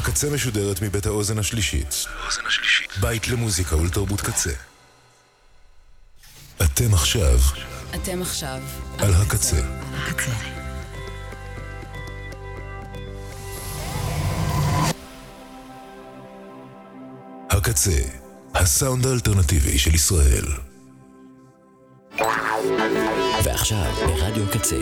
הקצה משודרת מבית האוזן השלישית. בית למוזיקה ולתרבות קצה. אתם עכשיו על הקצה. הקצה, הסאונד האלטרנטיבי של ישראל. ועכשיו ברדיו קצה.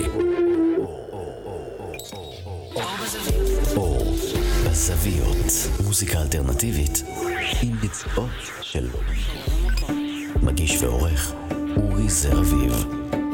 אור בזוויות, מוזיקה אלטרנטיבית עם ביצועות של מגיש ועורך אורי זרביב.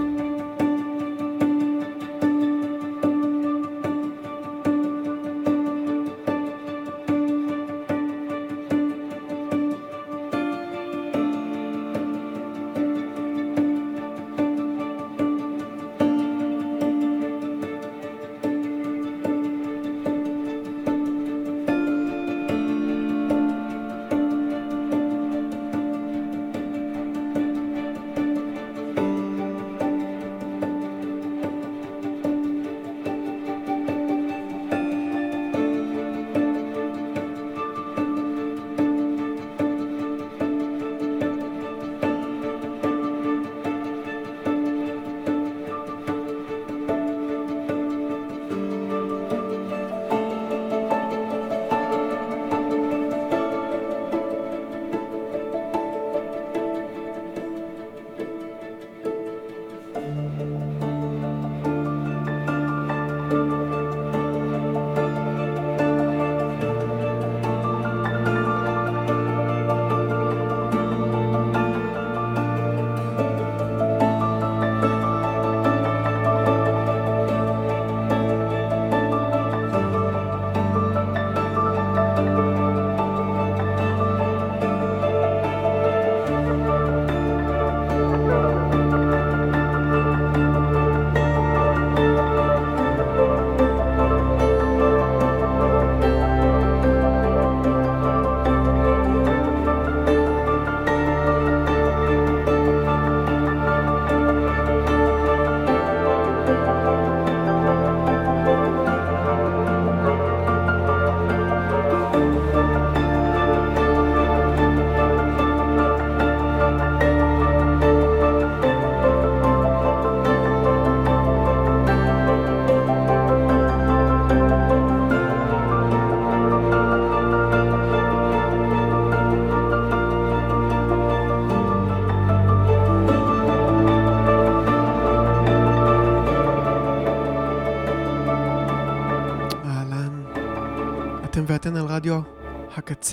ואתן על רדיו הקצה.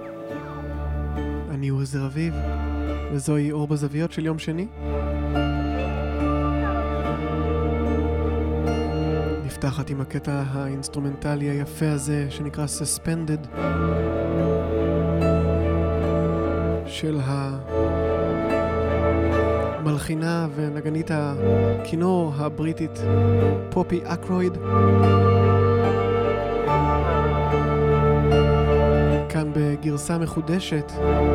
אני אורי זרביב, וזוהי אור בזוויות של יום שני. נפתחת עם הקטע האינסטרומנטלי היפה הזה שנקרא Suspended של המלחינה ונגנית הכינור הבריטית פופי אקרויד, כאן בגרסה מחודשת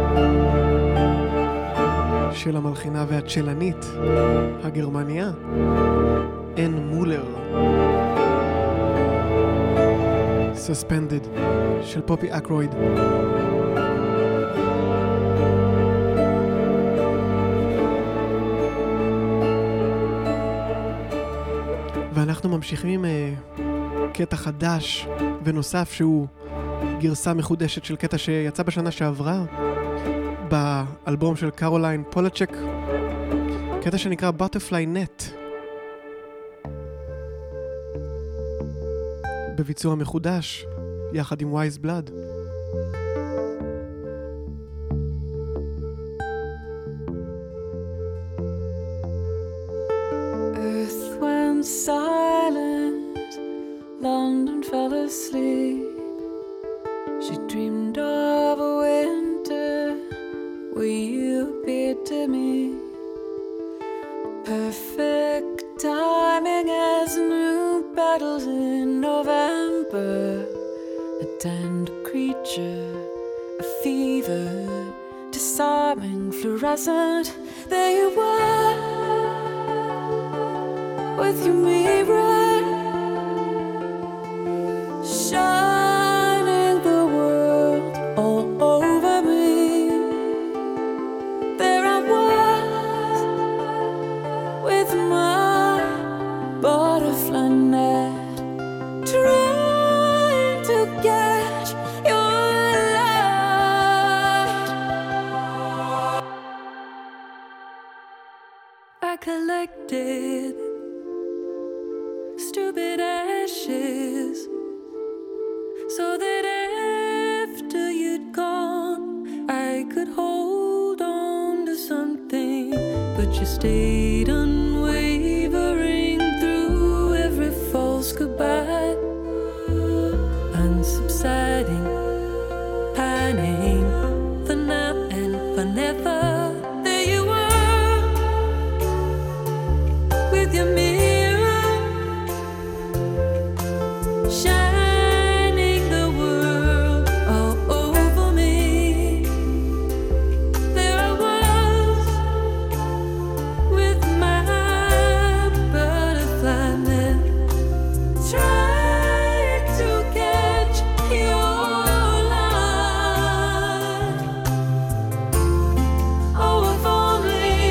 של המלחינה והצ'לנית הגרמניה אן מולר. Suspended של פופי אקרויד. ואנחנו ממשיכים עם קטע חדש ונוסף שהוא גרסה מחודשת של קטע שיצא בשנה שעברה באלבום של קרוליין פולצ'ק, קטע שנקרא Butterfly Net, בביצוע מחודש יחד עם Wise Blood. Earth went silent, London fell asleep. She dreamed of a winter where you appeared to me. Perfect timing as new battles in November. A tender creature, a fever, disarming, fluorescent. There you were, with your mirror, shining the is, so that after you'd gone I could hold on to something, but you stayed unwavering through every false goodbye, unsubsiding, pining for now and for never. There you were with your mirror, shining the world all over me. There I was with my butterfly net, trying to catch your light. Oh, if only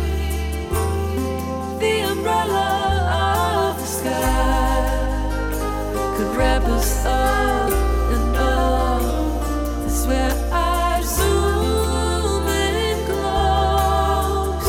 the umbrella of the sky could wrap us up in love. That's where I'd zoom in close,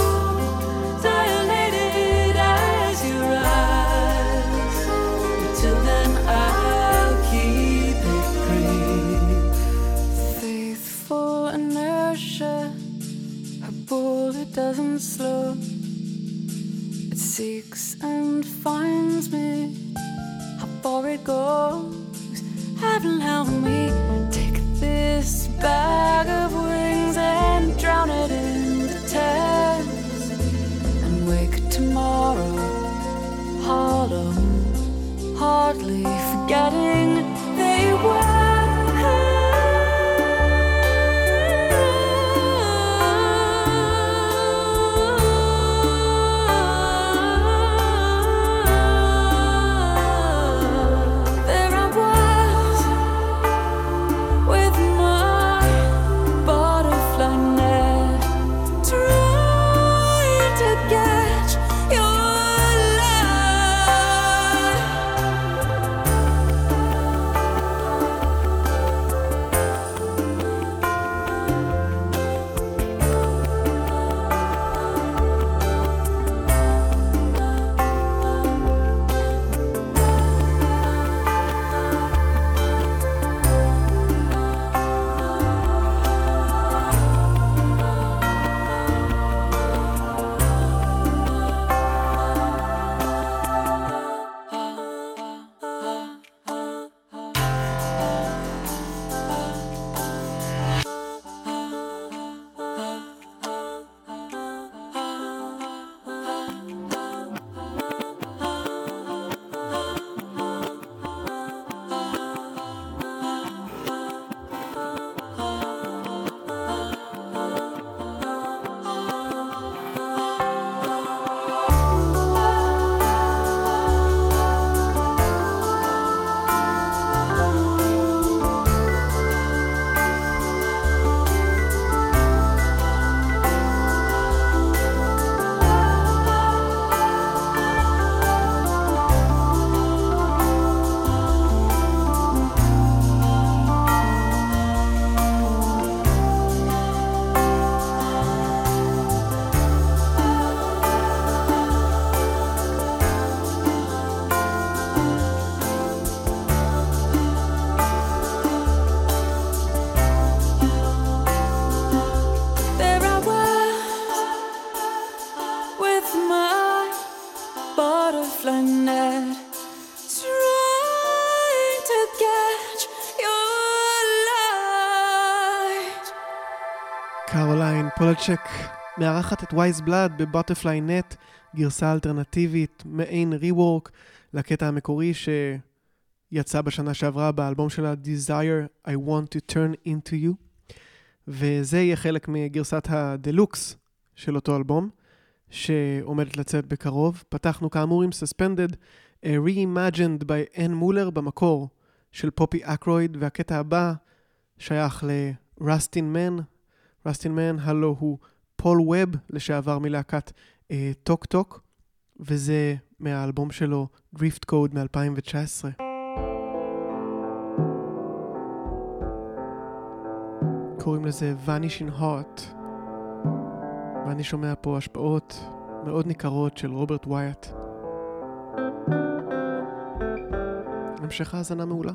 dilated as you rise. Until then, I'll keep it brief. Faithful inertia, a bullet doesn't slow. It seeks and finds me. How far it goes, heaven help me. Take this bag of wings and drown it in the tears, and wake tomorrow hollow, hardly forgetting they were. There I was with my butterfly net, trying to catch your light. butterfly net, trying to catch your light. קרוליין פולצ'ק מארחת את וייז בלאד בבוטרפליי נט, גרסה אלטרנטיבית, מעין ריוורק לקטע המקורי שיצא בשנה שעברה באלבום שלה Desire I Want to Turn Into You, וזה יהיה חלק מגרסת הדלוקס של אותו אלבום שעומדת לצאת בקרוב. פתחנו כאמור עם Suspended, Reimagined by Ann Muller במקור של פופי אקרויד, והקטע הבא שייך לרסטין מן. רסטין מן הלו הוא פול ווב, לשעבר מלהקת טוק טוק, וזה מהאלבום שלו Drift Code מ-2019. קוראים לזה Vanishing Heart, ואני שומע פה השפעות מאוד ניכרות של רוברט ווייט. המשך האזנה מעולה.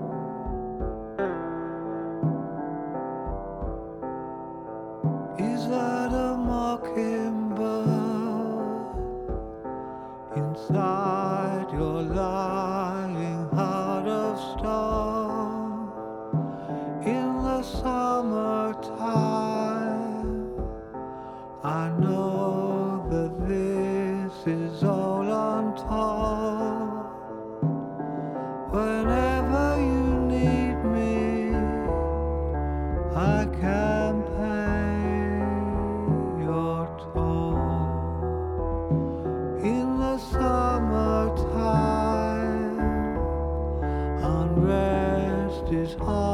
Is that a mockingbird inside your lying heart of stone? In the summertime, I know that this is all untold. Whenever you need me, I can pay your toll. In the summertime, unrest is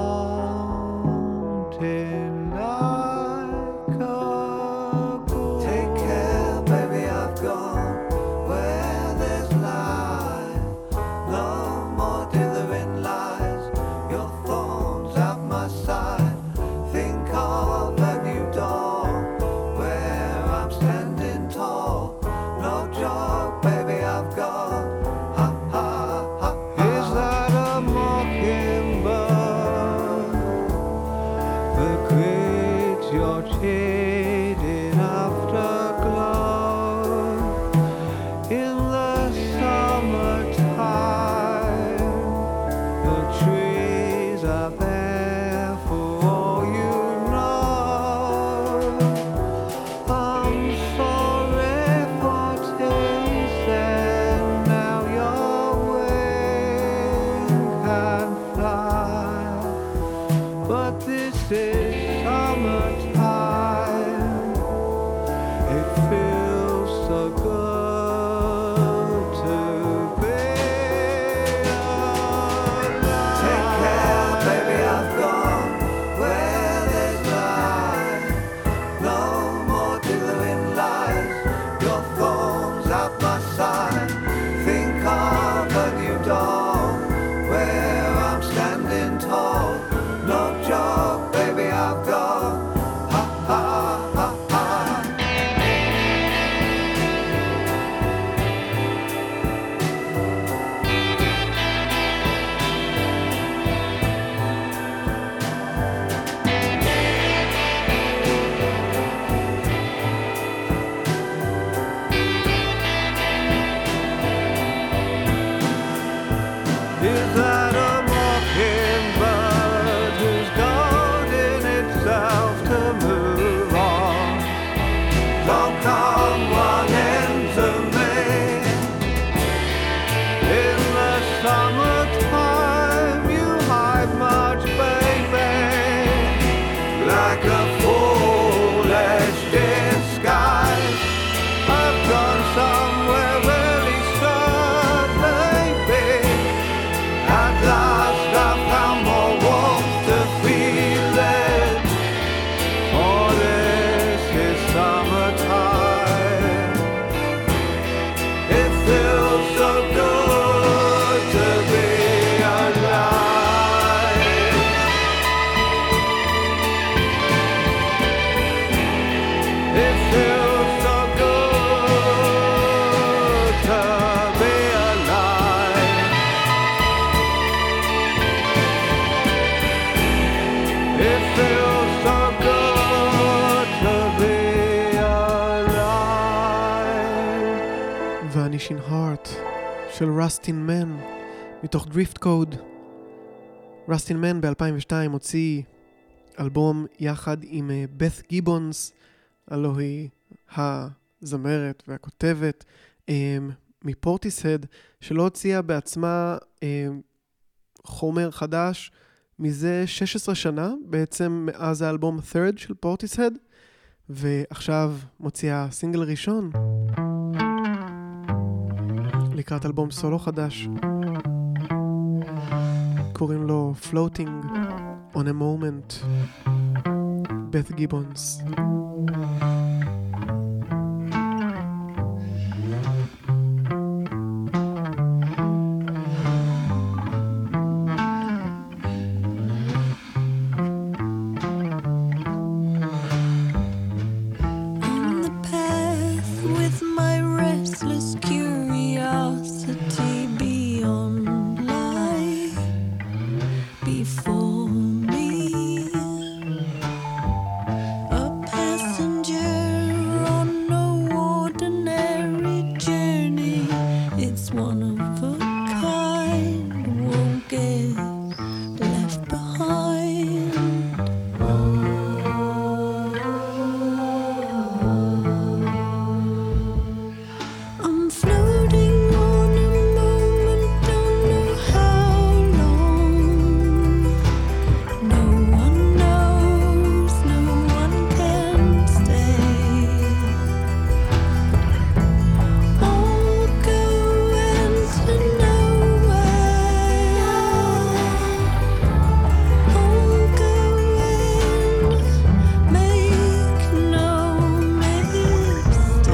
haunting like a ghoul. Take care, baby, I've gone where there's light. No more dithering lies. Your thorns at my side. Think of a new dawn where I'm standing tall. No joke, baby, I've gone. Ha ha ha. Is that a mockingbird that creates your shaded afterglow? In the summertime, the trees are there for all you know. I'm sorry for tasting now your wing can fly, but this is summertime. It feels so good to be alive. Take care, baby, I've gone where there's light. No more dithering lies. Your thorns at my side. Think of a new dawn where I'm standing tall. No joke, baby, I've gone. Ha ha ha ha. Is that a mockingbird who's goading itself to move on? Don't come running to me. In the summertime, you hide much, baby, like a foolish disguise. I've gone somewhere really sad, baby. At last I found more warmth to feel it. For this is summertime. It feels so good to be alive. It feels so good to be alive. It feels so good to be alive. Vanishing Heart של רסטין מן מתוך דריפט קוד. רסטין מן ב-2002 הוציא אלבום יחד עם בת גיבונס, הלוא היא הזמרת והכותבת מפורטיסהד, שלא הוציאה בעצמה חומר חדש מזה 16 שנה, בעצם מאז האלבום Third של פורטיסהד, ועכשיו מוציאה סינגל ראשון לקראת אלבום סולו חדש. קוראים לו Floating on a Moment. בת גיבונס. restless curiosity beyond life. before me. A passenger on no ordinary journey. It's one of a kind, won't get left behind. I'm floating on a moment, don't know how long. No one knows, no one can stay. All going to nowhere. All going, make no mistake.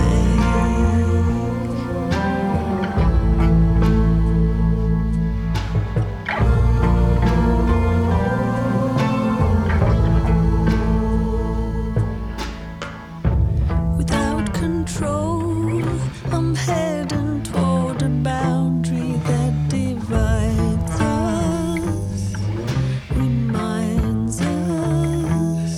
Without control, I'm heading toward a boundary that divides us, reminds us.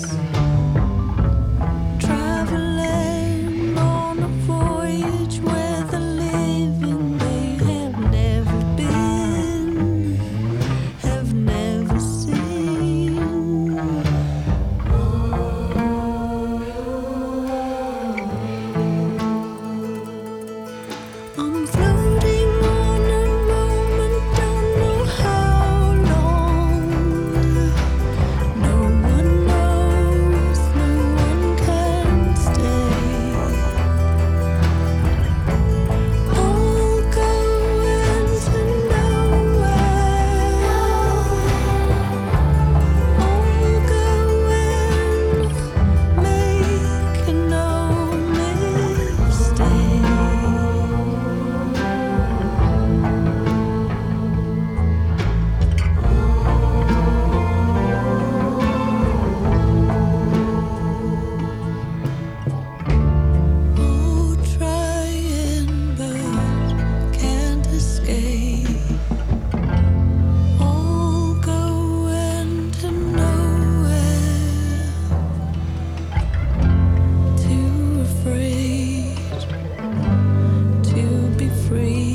Traveling on a voyage where the living they have never been, have never seen. I'm floating on a moment, don't know how long. No one knows, no one can stay. All going to nowhere. All going, make no mistake. Oh, trying but can't escape. All going to nowhere. Too afraid to be free.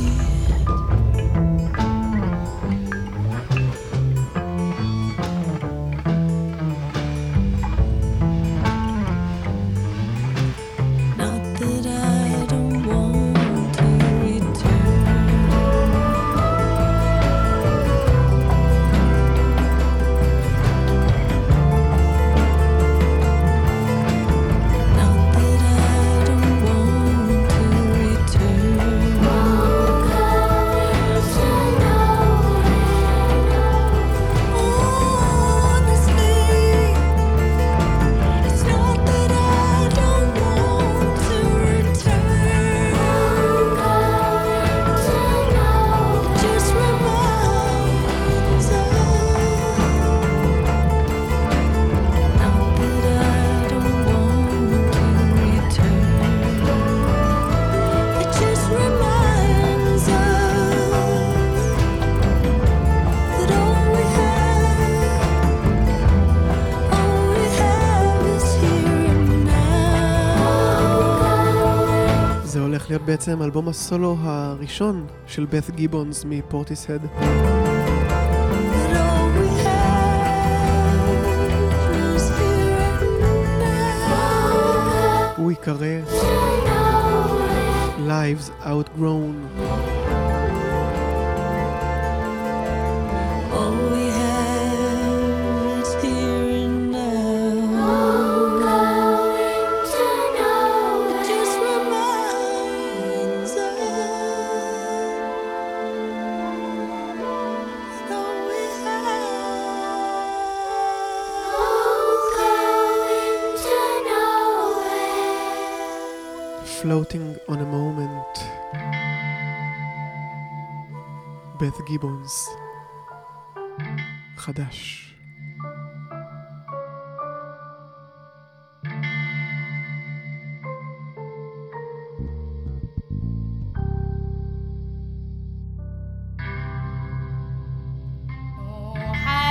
Not that I don't want to return. Not that I don't want to return. Honestly, it's not that I don't want to return. Just reminds us. Not that I don't want to return. It just reminds us that all we have is here and now. זה הולך להיות בעצם אלבום הסולו הראשון של בת גיבונס מפורטיסהד. That all we have is here and now. הוא יקרא Lives Outgrown. All we have is here and now. It just reminds us that all we have. Floating on a moment. בת גיבונס. חדש. Oh, how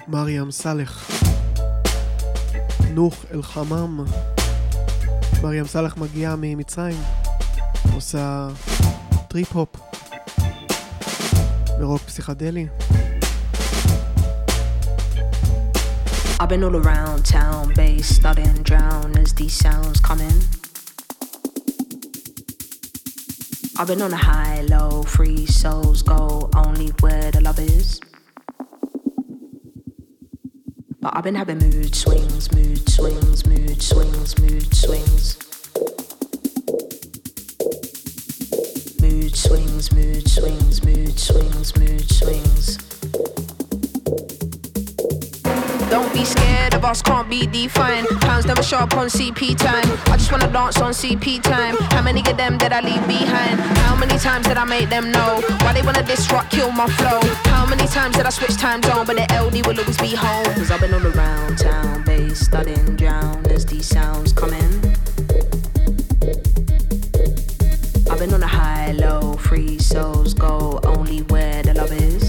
מרים סלח, נוח אל חמם. מרים סלח מגיעה ממצרים, עושה טריפ-הופ ורוק פסיכדלי. I've been all around town, bass studying drown as these sounds come in. I've been on a high, low, free souls go only where the love is. But I've been having mood swings, mood swings, mood swings, mood swings. Mood swings, mood swings, mood swings, mood swings. Don't be scared of us, can't be defined. Pounds never show up on CP time. I just wanna dance on CP time. How many of them did I leave behind? How many times did I make them know? Why they wanna disrupt, kill my flow? How many times did I switch time zone? But the LD will always be home. Cause I've been all around town, bass studying drown as these sounds come in. I've been on a high, low, free souls go only where the love is.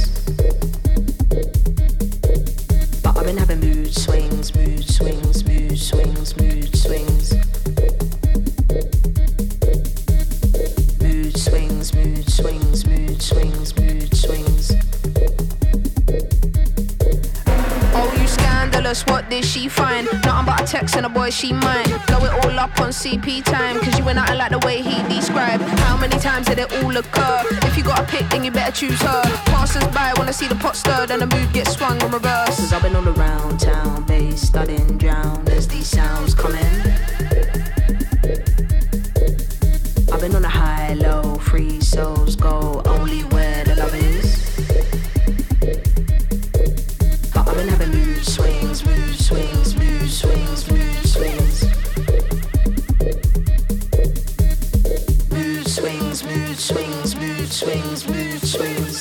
I've been having mood swings, mood swings, mood swings, mood swings. Mood swings, mood swings, mood swings, mood swings. Oh, you scandalous, what did she find? Nothing but a text and a boy she might blow it all up on CP time. Cause you were nothing like the way he described. How many times did it all occur? If you got a pick, then you better choose her. Passers by wanna see the pot stirred and the mood gets swung on reverse. Cause I've been all around town, bass studying drown as these sounds come in. I've been on a high, low, free souls go only where the love is. But I've been having mood swings, mood swings, mood swings, mood swings. Mood swings, mood swings, mood swings, mood swings.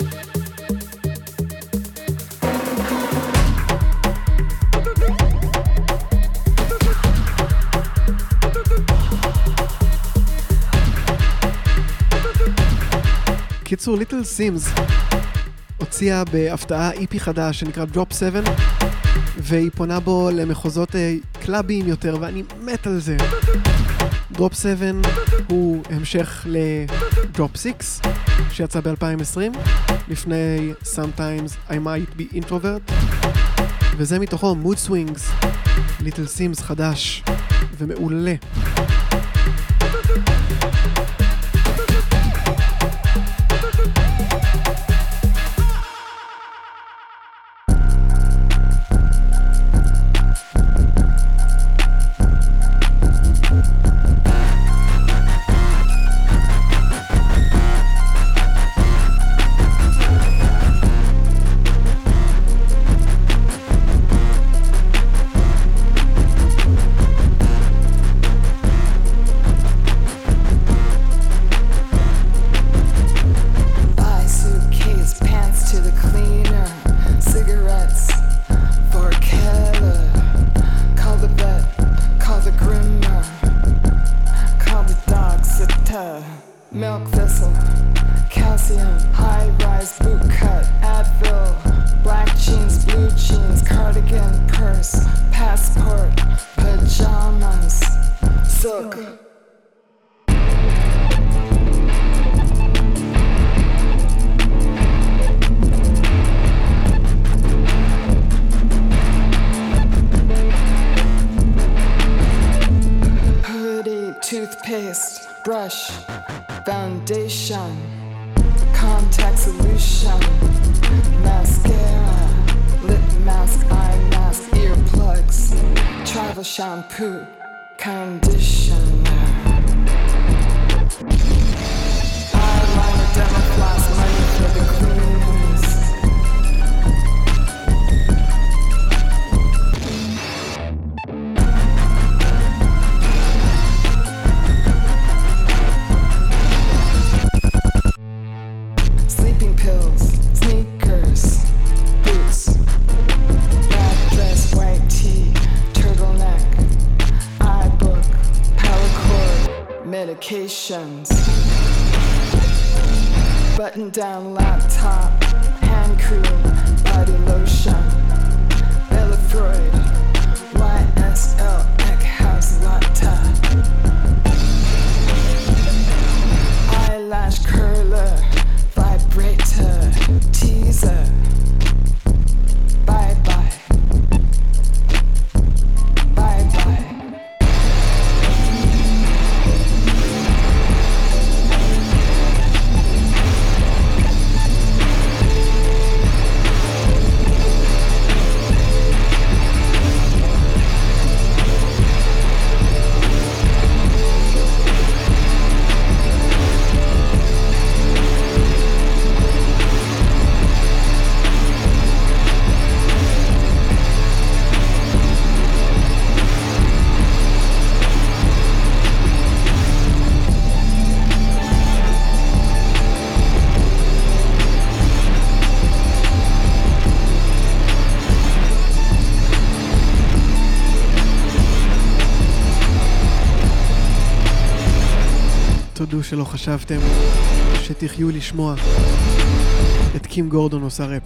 קיצור, ליטל סימס הוציאה בהפתעה איפי חדש שנקרא Drop 7, והיא פונה בו למחוזות קלאביים יותר, ואני מת על זה. Drop 7 הוא המשך ל-Drop 6 שיצא ב-2020 לפני Sometimes I Might Be Introvert, וזה מתוכו Mood Swings, ליטל סימס חדש ומעולה. Milk thistle, calcium, high-rise boot cut, Advil, black jeans, blue jeans, cardigan, purse, passport, pajamas, silk. Hoodie, toothpaste, brush, foundation, contact solution, mascara, lip mask, eye mask, earplugs, travel shampoo, conditioner, eyeliner, Dermafloss, money for the queens. Pills, sneakers, boots, black dress, white tee, turtleneck, iBook, power cord, medications, button down laptop, hand cream, body lotion, שלא חשבתם שתחיו לשמוע את קים גורדון עושה ראפ.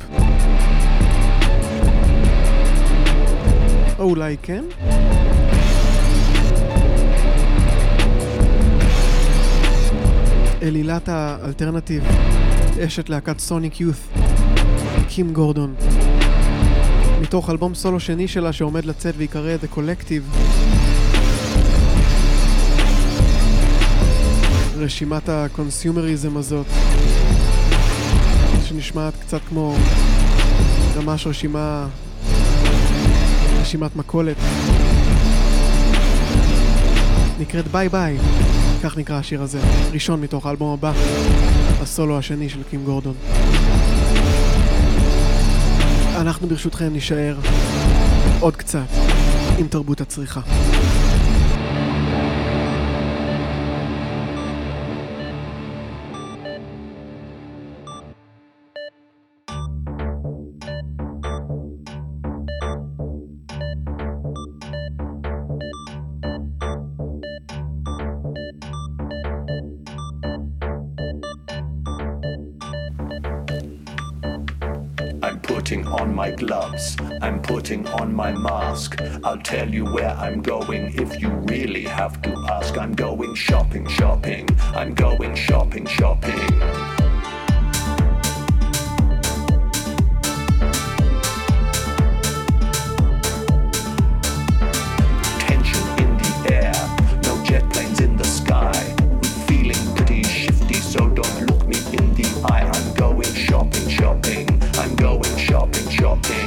או אולי כן? אלילת האלטרנטיב, אשת להקת סוניק יות', קים גורדון, מתוך אלבום סולו שני שלה שעומד לצאת ויקרא The Collective. רשימת הקונסיומריזם הזאת שנשמעת קצת כמו ממש רשימת מקולת, נקראת ביי ביי, כך נקרא השיר הזה, ראשון מתוך האלבום הבא, הסולו השני של קים גורדון. אנחנו ברשותכם נשאר עוד קצת עם תרבות הצריכה. Putting on my gloves, I'm putting on my mask. I'll tell you where I'm going if you really have to ask. I'm going shopping, shopping. I'm going shopping, shopping. Tension in the air, no jet planes in the sky. I'm feeling pretty shifty, so don't look me in the eye. I'm going shopping, shopping. I'm going shopping, shopping.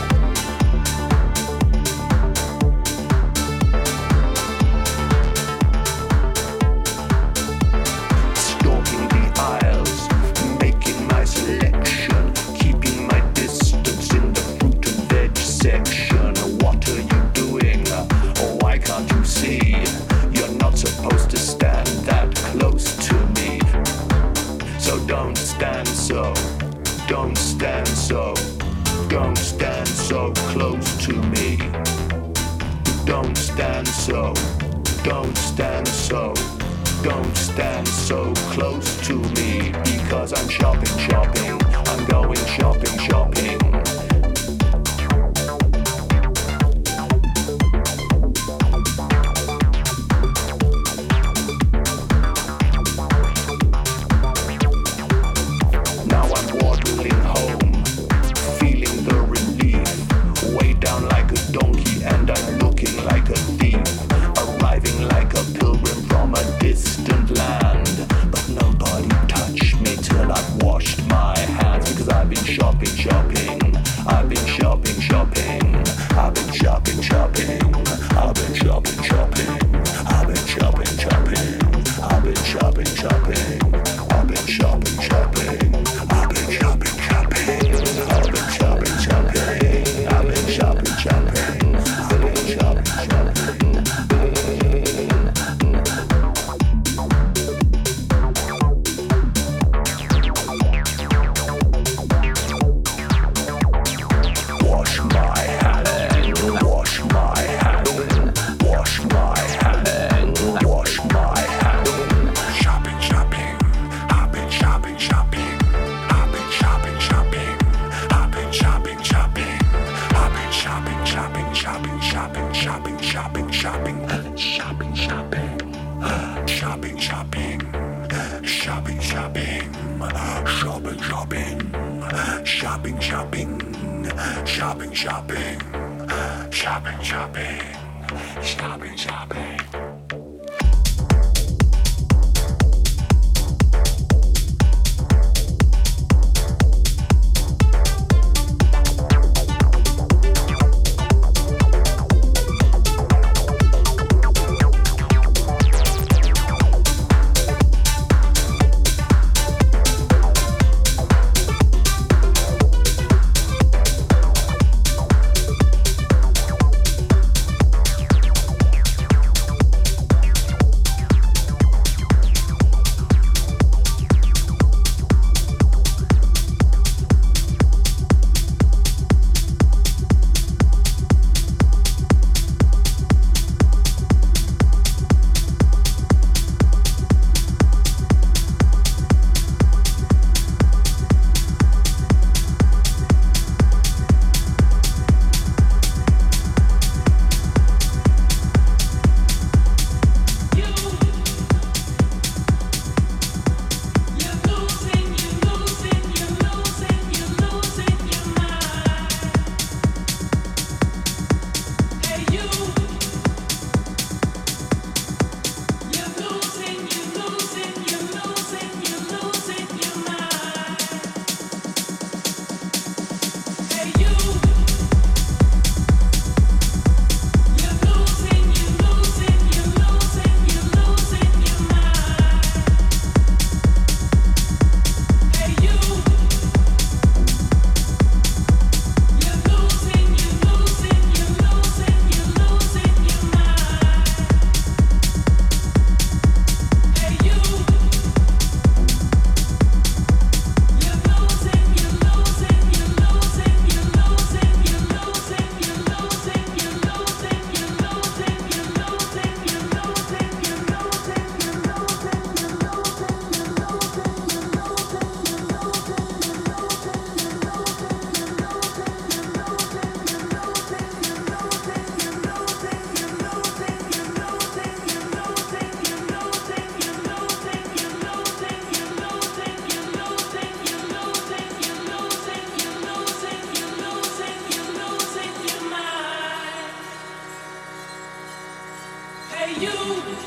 Stalking the aisles, making my selection, keeping my distance in the fruit and veg section. What are you doing? Oh, why can't you see? You're not supposed to stand that close to me. So don't stand so. Don't stand so, don't stand so close to me. Don't stand so, don't stand so, don't stand so close to me. Because I'm shopping, shopping, I'm going shopping, shopping.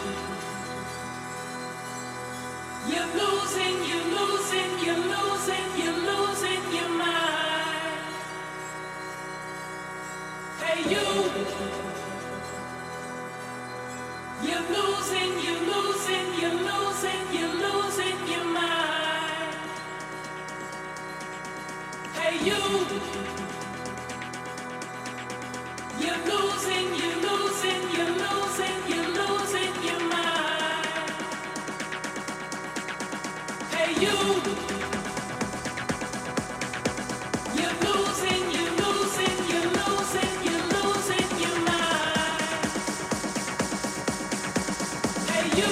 You're losing your mind. Hey you. You're losing your mind. Hey you. You're losing your mind. Hey you. You're losing your mind. Hey you.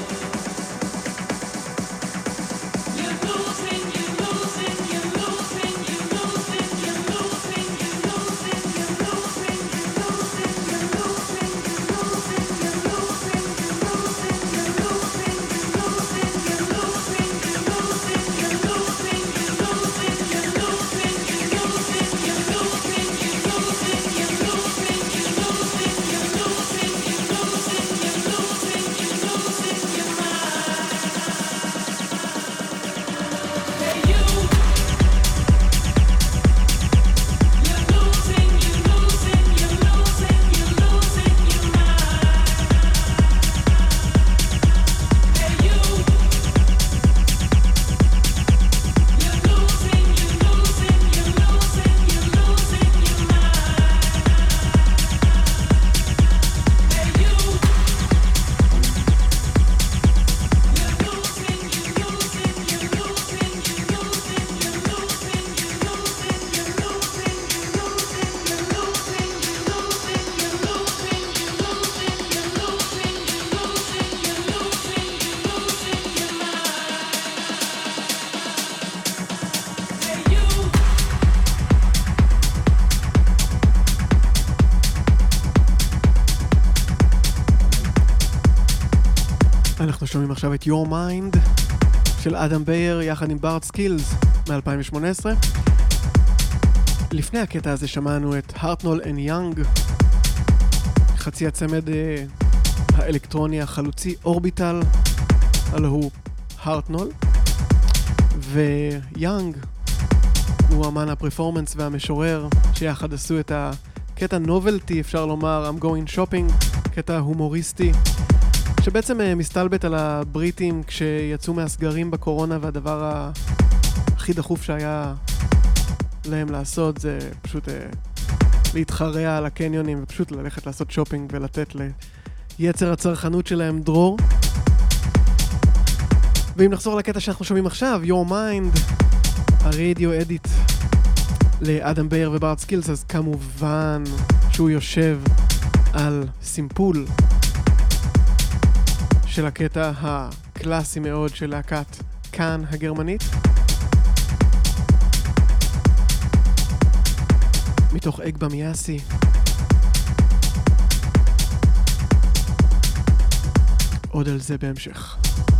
You're losing your אנחנו שומעים עכשיו את Your Mind של אדם בייר יחד עם בארד סקילס מ-2018. לפני הקטע הזה שמענו את הרטנול אנד יאנג, חצי הצמד האלקטרוני החלוצי אורביטל, הלא הוא הרטנול, ויאנג הוא אמן הפרפורמנס והמשורר שיחד עשו את הקטע נובלטי, אפשר לומר, I'm going shopping, קטע הומוריסטי שבעצם מסתלבט על הבריטים כשיצאו מהסגרים בקורונה, והדבר הכי דחוף שהיה להם לעשות זה פשוט להתחרע על הקניונים ופשוט ללכת לעשות שופינג ולתת ליצר הצרכנות שלהם דרור. ואם נחזור לקטע שאנחנו שומעים עכשיו, Your Mind, הרדיו אדיט לאדם בייר ובארד סקילס, אז כמובן שהוא יושב על סימפול של הקטע הקלאסי מאוד של להקת כאן הגרמנית, מתוך אגבה מיאסי. עוד על זה בהמשך.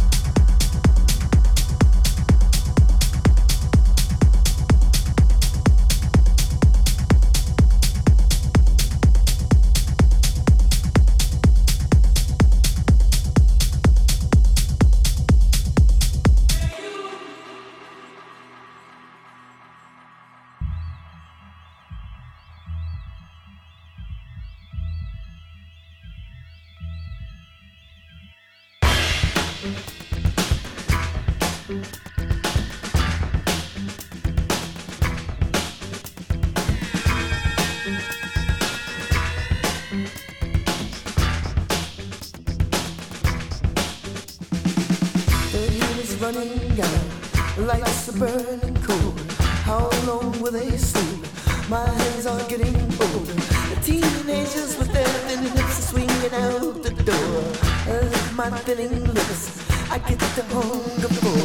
Lights are burning cold. How long will they sleep? My hands are getting older. The teenagers with their thin lips are swinging out the door. My thinning lips, I get the hunger for.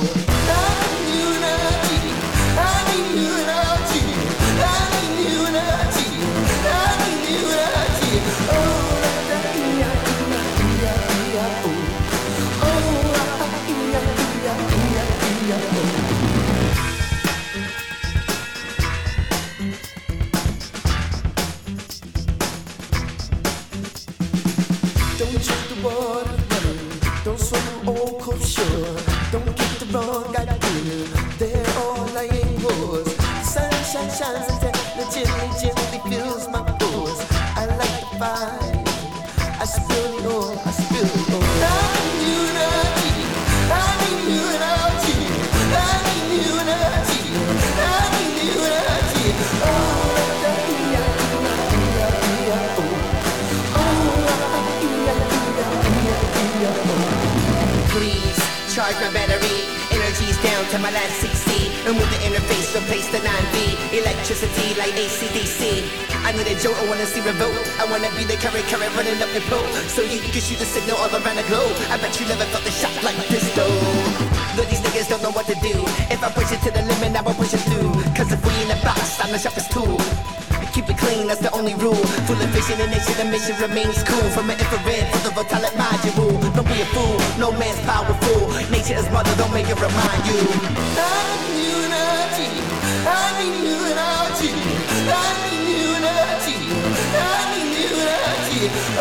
Don't check the water running. cold shore. Don't get the wrong idea, they're all lying whores. The sunshine shines and gently fills my pores. I like the fire, I spill the oil, I spill the oil. I need unity, I need unity, I need unity, I need unity. Please charge my battery. Energy's down to my last 6C. Remove the interface, replace the 9V. Electricity like AC/DC. I need a jolt, I wanna see revolt. I wanna be the current running up your pole. So you can shoot a signal all around the globe. I bet you never felt the shock like this though. Though these niggas don't know what to do. If I push it to the limit, I will push it through. Cause if we in the box, I'm the sharpest tool. Keep it clean, that's the only rule. Full of vision and nation, the mission remains cool. From an infrared to the volatile module. Don't be a fool, no man's powerful. Nature is mother, don't make it remind you. I need unity, I need unity, I need unity, I need unity.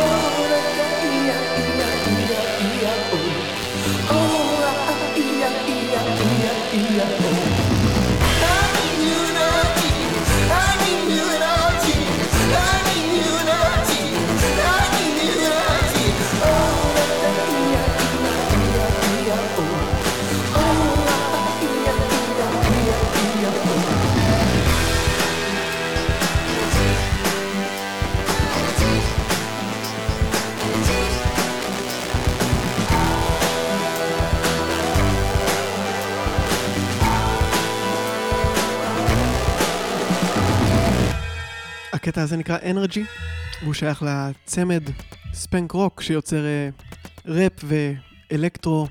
הקטע הזה נקרא Energy, והוא שייך לצמד ספנק רוק שיוצר ראפ ואלקטרו.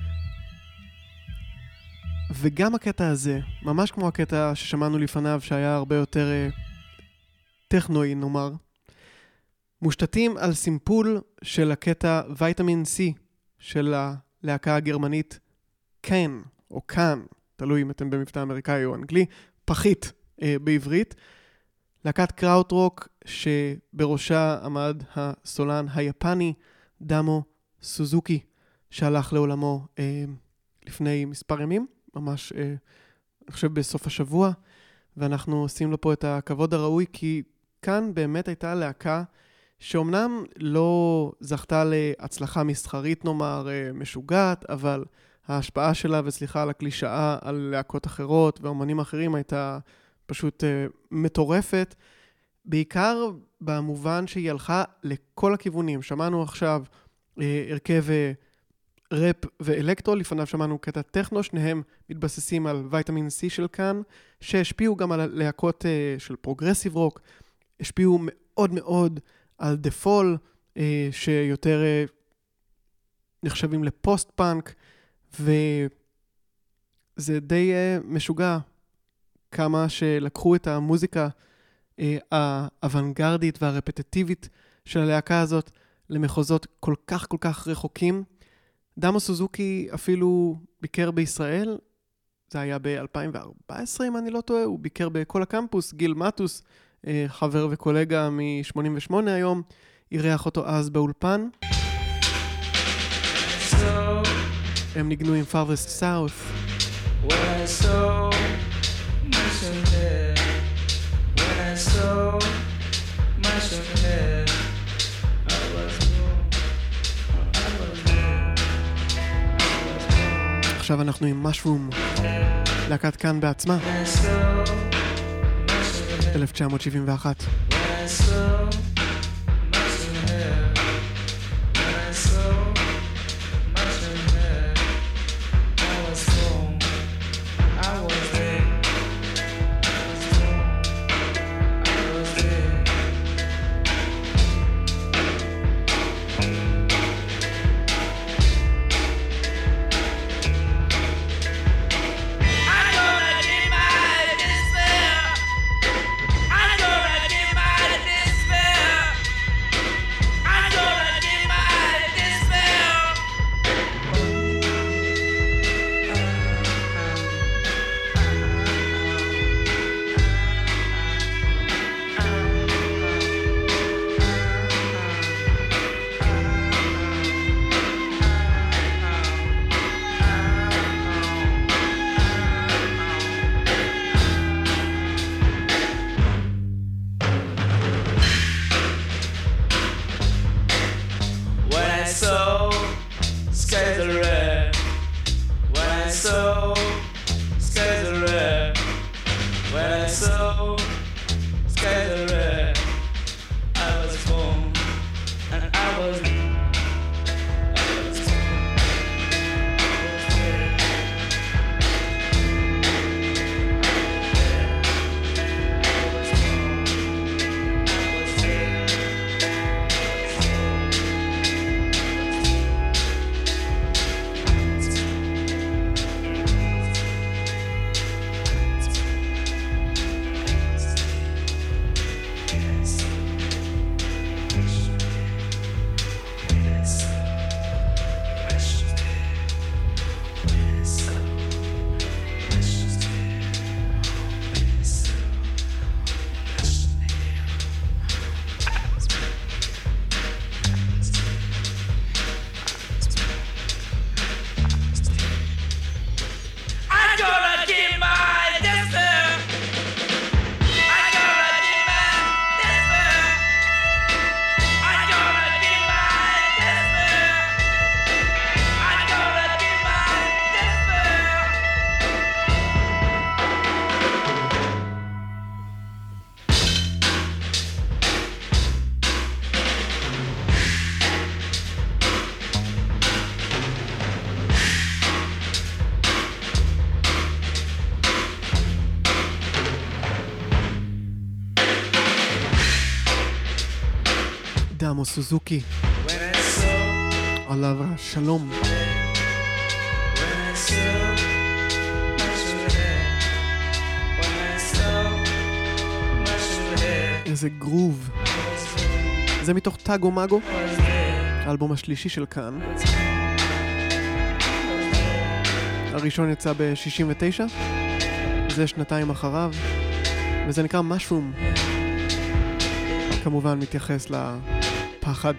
וגם הקטע הזה, ממש כמו הקטע ששמענו לפניו שהיה הרבה יותר טכנואי נאמר, מושתתים על סימפול של הקטע ויטמין C של הלהקה הגרמנית קאן או קאן, תלוי אם אתם במבטא אמריקאי או אנגלי, פחית בעברית. להקת קראוטרוק שבראשה עמד הסולן היפני דאמו סוזוקי שהלך לעולמו לפני מספר ימים, ממש אני חושב בסוף השבוע, ואנחנו עושים לו פה את הכבוד הראוי כי כאן באמת הייתה להקה שאומנם לא זכתה להצלחה מסחרית נאמר משוגעת, אבל ההשפעה שלה וסליחה על הקלישאה על להקות אחרות ואומנים אחרים הייתה פשוט מטורפת, בעיקר במובן שהיא הלכה לכל הכיוונים. שמענו עכשיו הרכב ראפ ואלקטרו, לפניו שמענו קטע טכנו, שניהם מתבססים על ויטמין C של כאן, שהשפיעו גם על להקות של פרוגרסיב רוק, השפיעו מאוד מאוד על דה פול, שיותר נחשבים לפוסט פאנק, וזה די משוגע. כמה שלקחו את המוזיקה האוונגרדית והרפטטיבית של הלהקה הזאת למחוזות כל כך רחוקים. דאמו סוזוקי אפילו ביקר בישראל, זה היה ב-2014 אם אני לא טועה, הוא ביקר בכל הקמפוס, גיל מטוס, חבר וקולגה מ-88 היום, אירח אותו אז באולפן. הם ניגנו עם Farthest South. When I saw my son there, I was עכשיו אנחנו עם משרום, להקת כאן בעצמה, 1971. Despair. דמו סוזוקי, עליו השלום. איזה גרוב. זה מתוך טאגו מאגו, האלבום השלישי של כאן. הראשון יצא ב-69, זה שנתיים אחריו, וזה נקרא משרום. כמובן מתייחס לפחד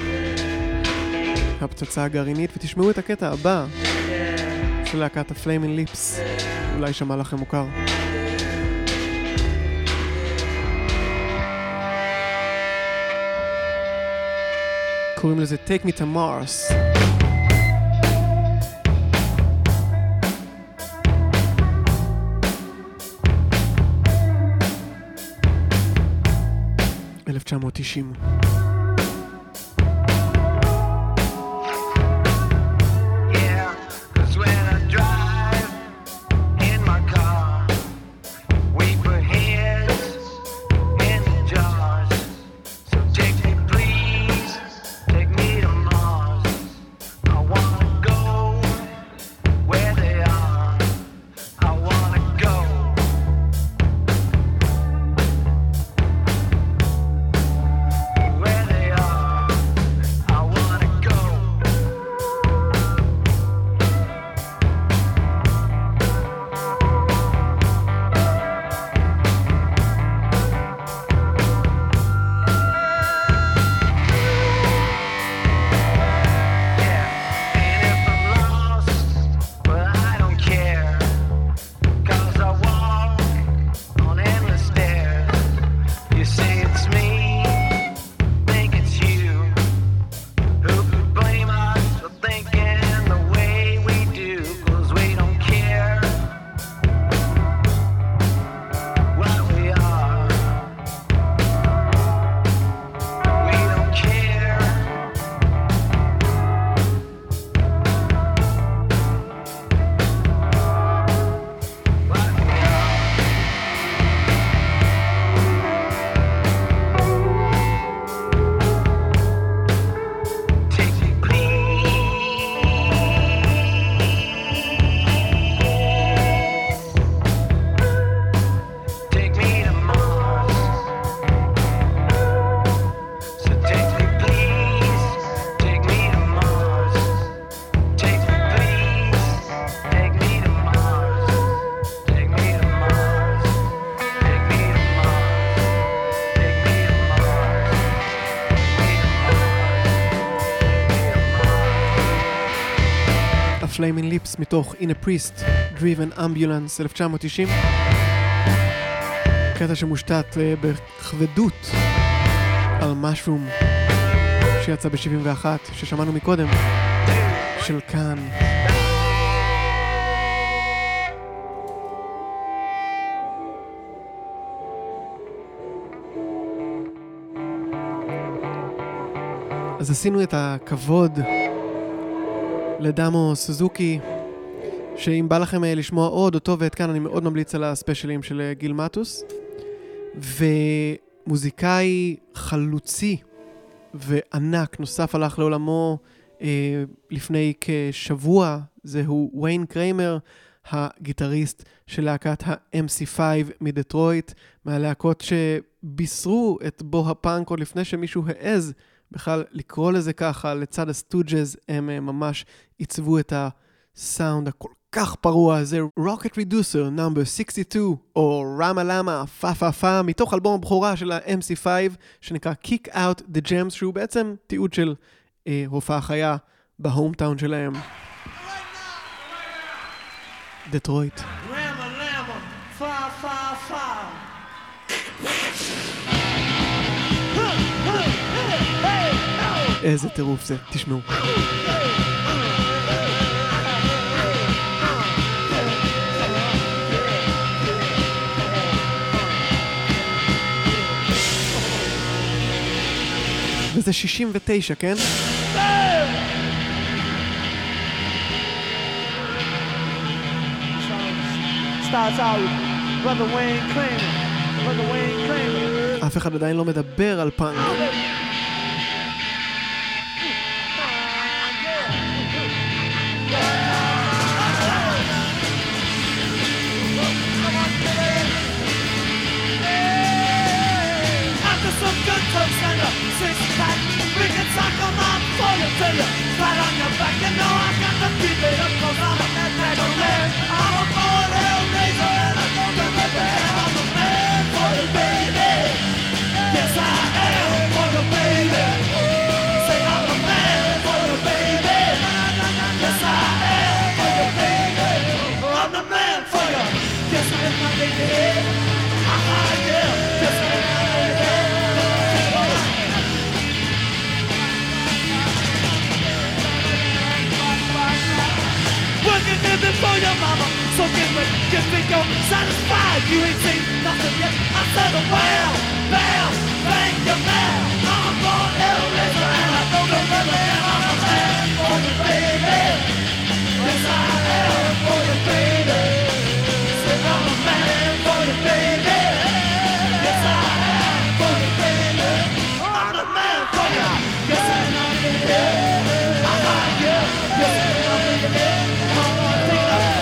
מהפצצה הגרעינית, ותשמעו את הקטע הבא של להקת הפליימינג ליפס, אולי שמע לכם מוכר. קוראים לזה Take Me to Mars. .1990. Flaming Lips מתוך In a Priest, Driven Ambulance 1990. קטע שמושתת בכבדות על משרום שיצא ב-71, ששמענו מקודם, של כאן. אז עשינו את הכבוד לדמו סוזוקי, שאם בא לכם לשמוע עוד אותו ואת כאן, אני מאוד ממליץ על הספיישלים של גיל מטוס. ומוזיקאי חלוצי וענק נוסף הלך לעולמו לפני כשבוע, זהו ויין קריימר, הגיטריסט של להקת ה-MC5 מדטרויט, מהלהקות שבישרו את בו הפאנק עוד לפני שמישהו העז בכלל לקרוא לזה ככה. לצד הסטוג'ז הם ממש עיצבו את הסאונד הכל כך פרוע הזה. Rocket Reducer נאמבר 62 או רמה למה פה פה פה, מתוך אלבום הבכורה של ה-MC5 שנקרא Kick Out the Gems, שהוא בעצם תיעוד של הופעה חיה בהומטאון שלהם, דטרויט. Rama Lama, fa fa fa. איזה טירוף זה, תשמעו. וזה 69, כן? Starts out, Brother Wayne Kramer, Brother Wayne Kramer. אף אחד עדיין לא מדבר על פאנק. satisfied, you ain't seen nothing yet. I said, well, thank you, man. I'm born Hellraiser and I don't remember that I'm a man for you, baby. Yes, I am for you, baby. Say I'm a man for you, baby. Yes, I am for you, baby. I'm the man for you. Yes, I am for you, baby. I'm not you. Yes, I am for you, baby. Come on, take it up.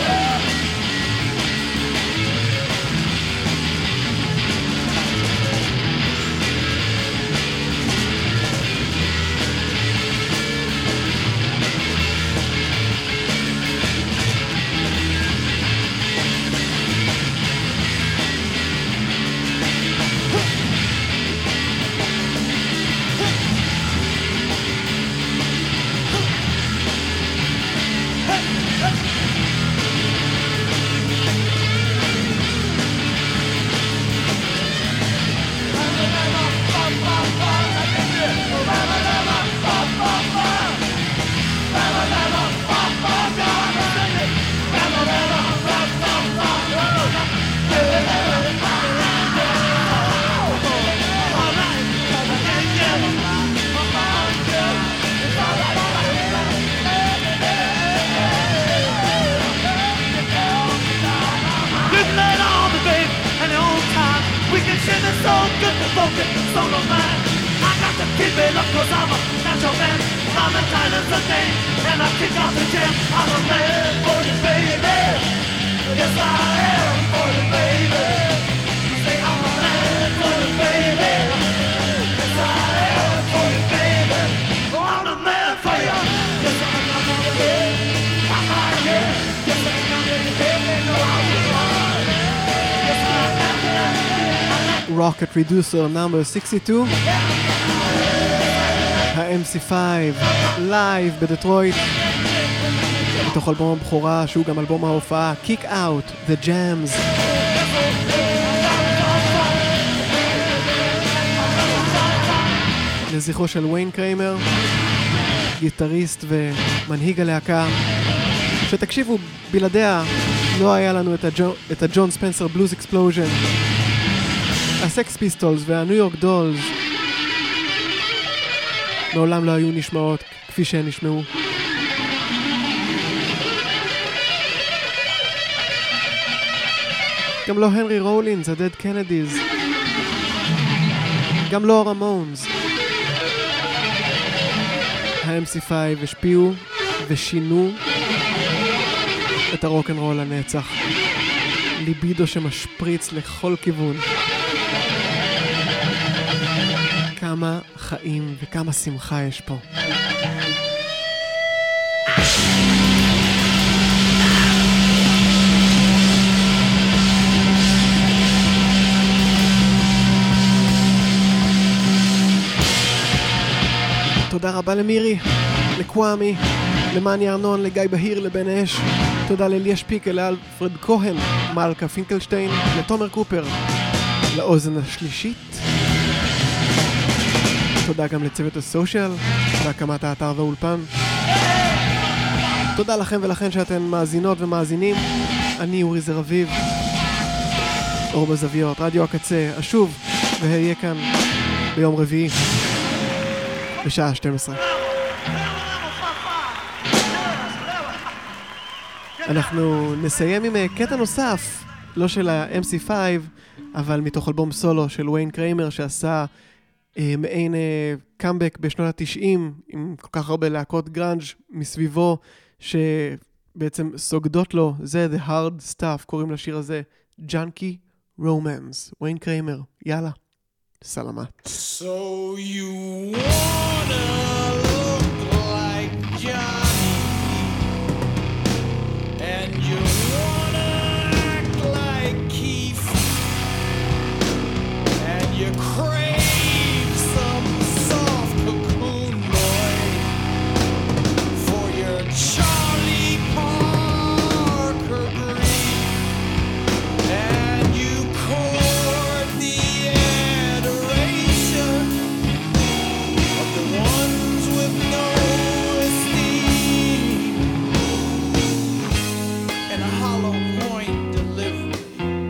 Solo man, I got to keep it up 'cause I'm a natural man. I'm a tight as a thing, and I kick out the jam. I'm a man for you, baby. Yes, I am for you, baby. Say I'm a man for you, baby. Yes, I am for you, baby. Oh, I'm the man for you. Yes, I'm the man for you. I'm out here. Yes, I'm the man for you. No, I'm the man. Yes, I am. Rocket Reducer number 62, ה-MC5 לייב בדטרויט, מתוך אלבום הבכורה שהוא גם אלבום ההופעה, Kick Out, The Jams. לזכרו של ויין קריימר, גיטריסט ומנהיג הלהקה, שתקשיבו, בלעדיה לא היה לנו את הג'ון ספנסר בלוז אקספלוז'ן. הסקס פיסטולס והניו יורק דולס מעולם לא היו נשמעות כפי שהן נשמעו. גם לא הנרי רולינס, הדד קנדיז, גם לא הרמונס. ה-MC5 השפיעו ושינו את הרוק'נ'רול לנצח. ליבידו שמשפריץ לכל כיוון. כמה חיים וכמה שמחה יש פה. תודה רבה למירי, לקוואמי, למאני ארנון, לגיא בהיר, לבן אש. תודה לליה שפיקל, לאלפרד כהן, מלכה פינקלשטיין, לתומר קופר, לאוזן השלישית. תודה גם לצוות הסושיאל, בהקמת האתר והאולפן. תודה לכם ולכן שאתן מאזינות ומאזינים. אני אורי זר אביב, אור בזוויות, רדיו הקצה, אשוב ואהיה כאן ביום רביעי בשעה 12. אנחנו נסיים עם קטע נוסף, לא של ה-MC5, אבל מתוך אלבום סולו של ויין קריימר שעשה מעין קאמבק בשנות ה-90 עם כל כך הרבה להקות גראנג' מסביבו שבעצם סוגדות לו. זה The Hard Stuff, קוראים לשיר הזה Junkie Romance. ויין קריימר, יאללה, סלמת. So you wanna look like Johnny and you wanna act like Keith and you crave some soft cocoon boy for your Charlie Parker grief and you court the adoration of the ones with no esteem and a hollow point delivery.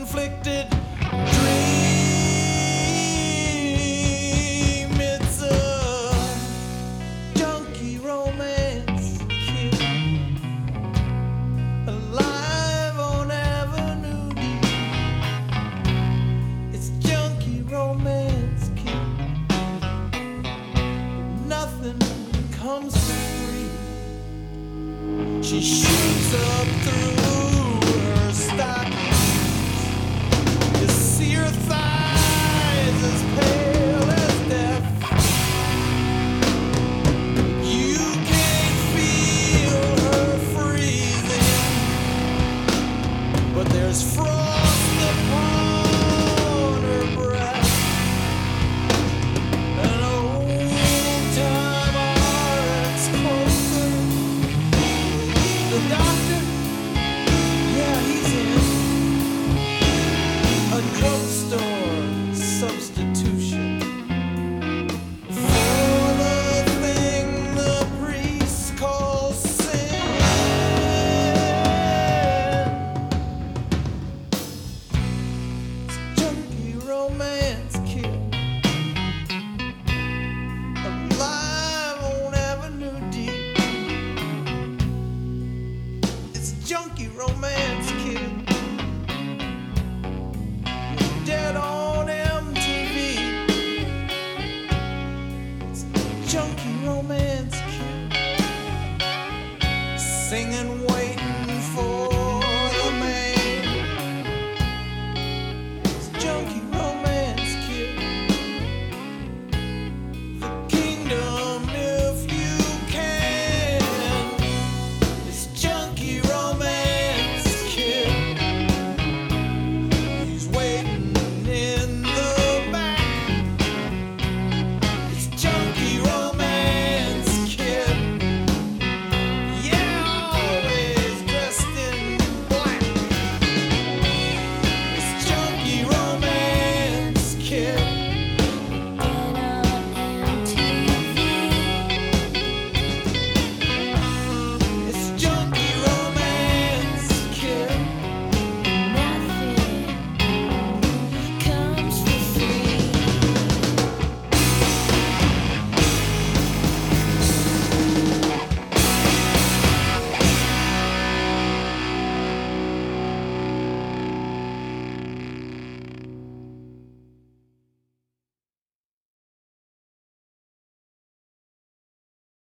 self-inflicted dream. It's a junkie romance kid, alive on Avenue D. It's junkie romance kid. Nothing comes for free. She shoots up through her stockings. You see her thighs as pale as death. You can't feel her freezing, but there's frost upon her breath. An old-time RX closer. The doctor, yeah, he's in. A drugstore substitution for the thing the priest calls sin. It's junkie romance kid, alive on Avenue D. It's junkie romance kid. You're dead on MTV. It's junkie romance kid. Singing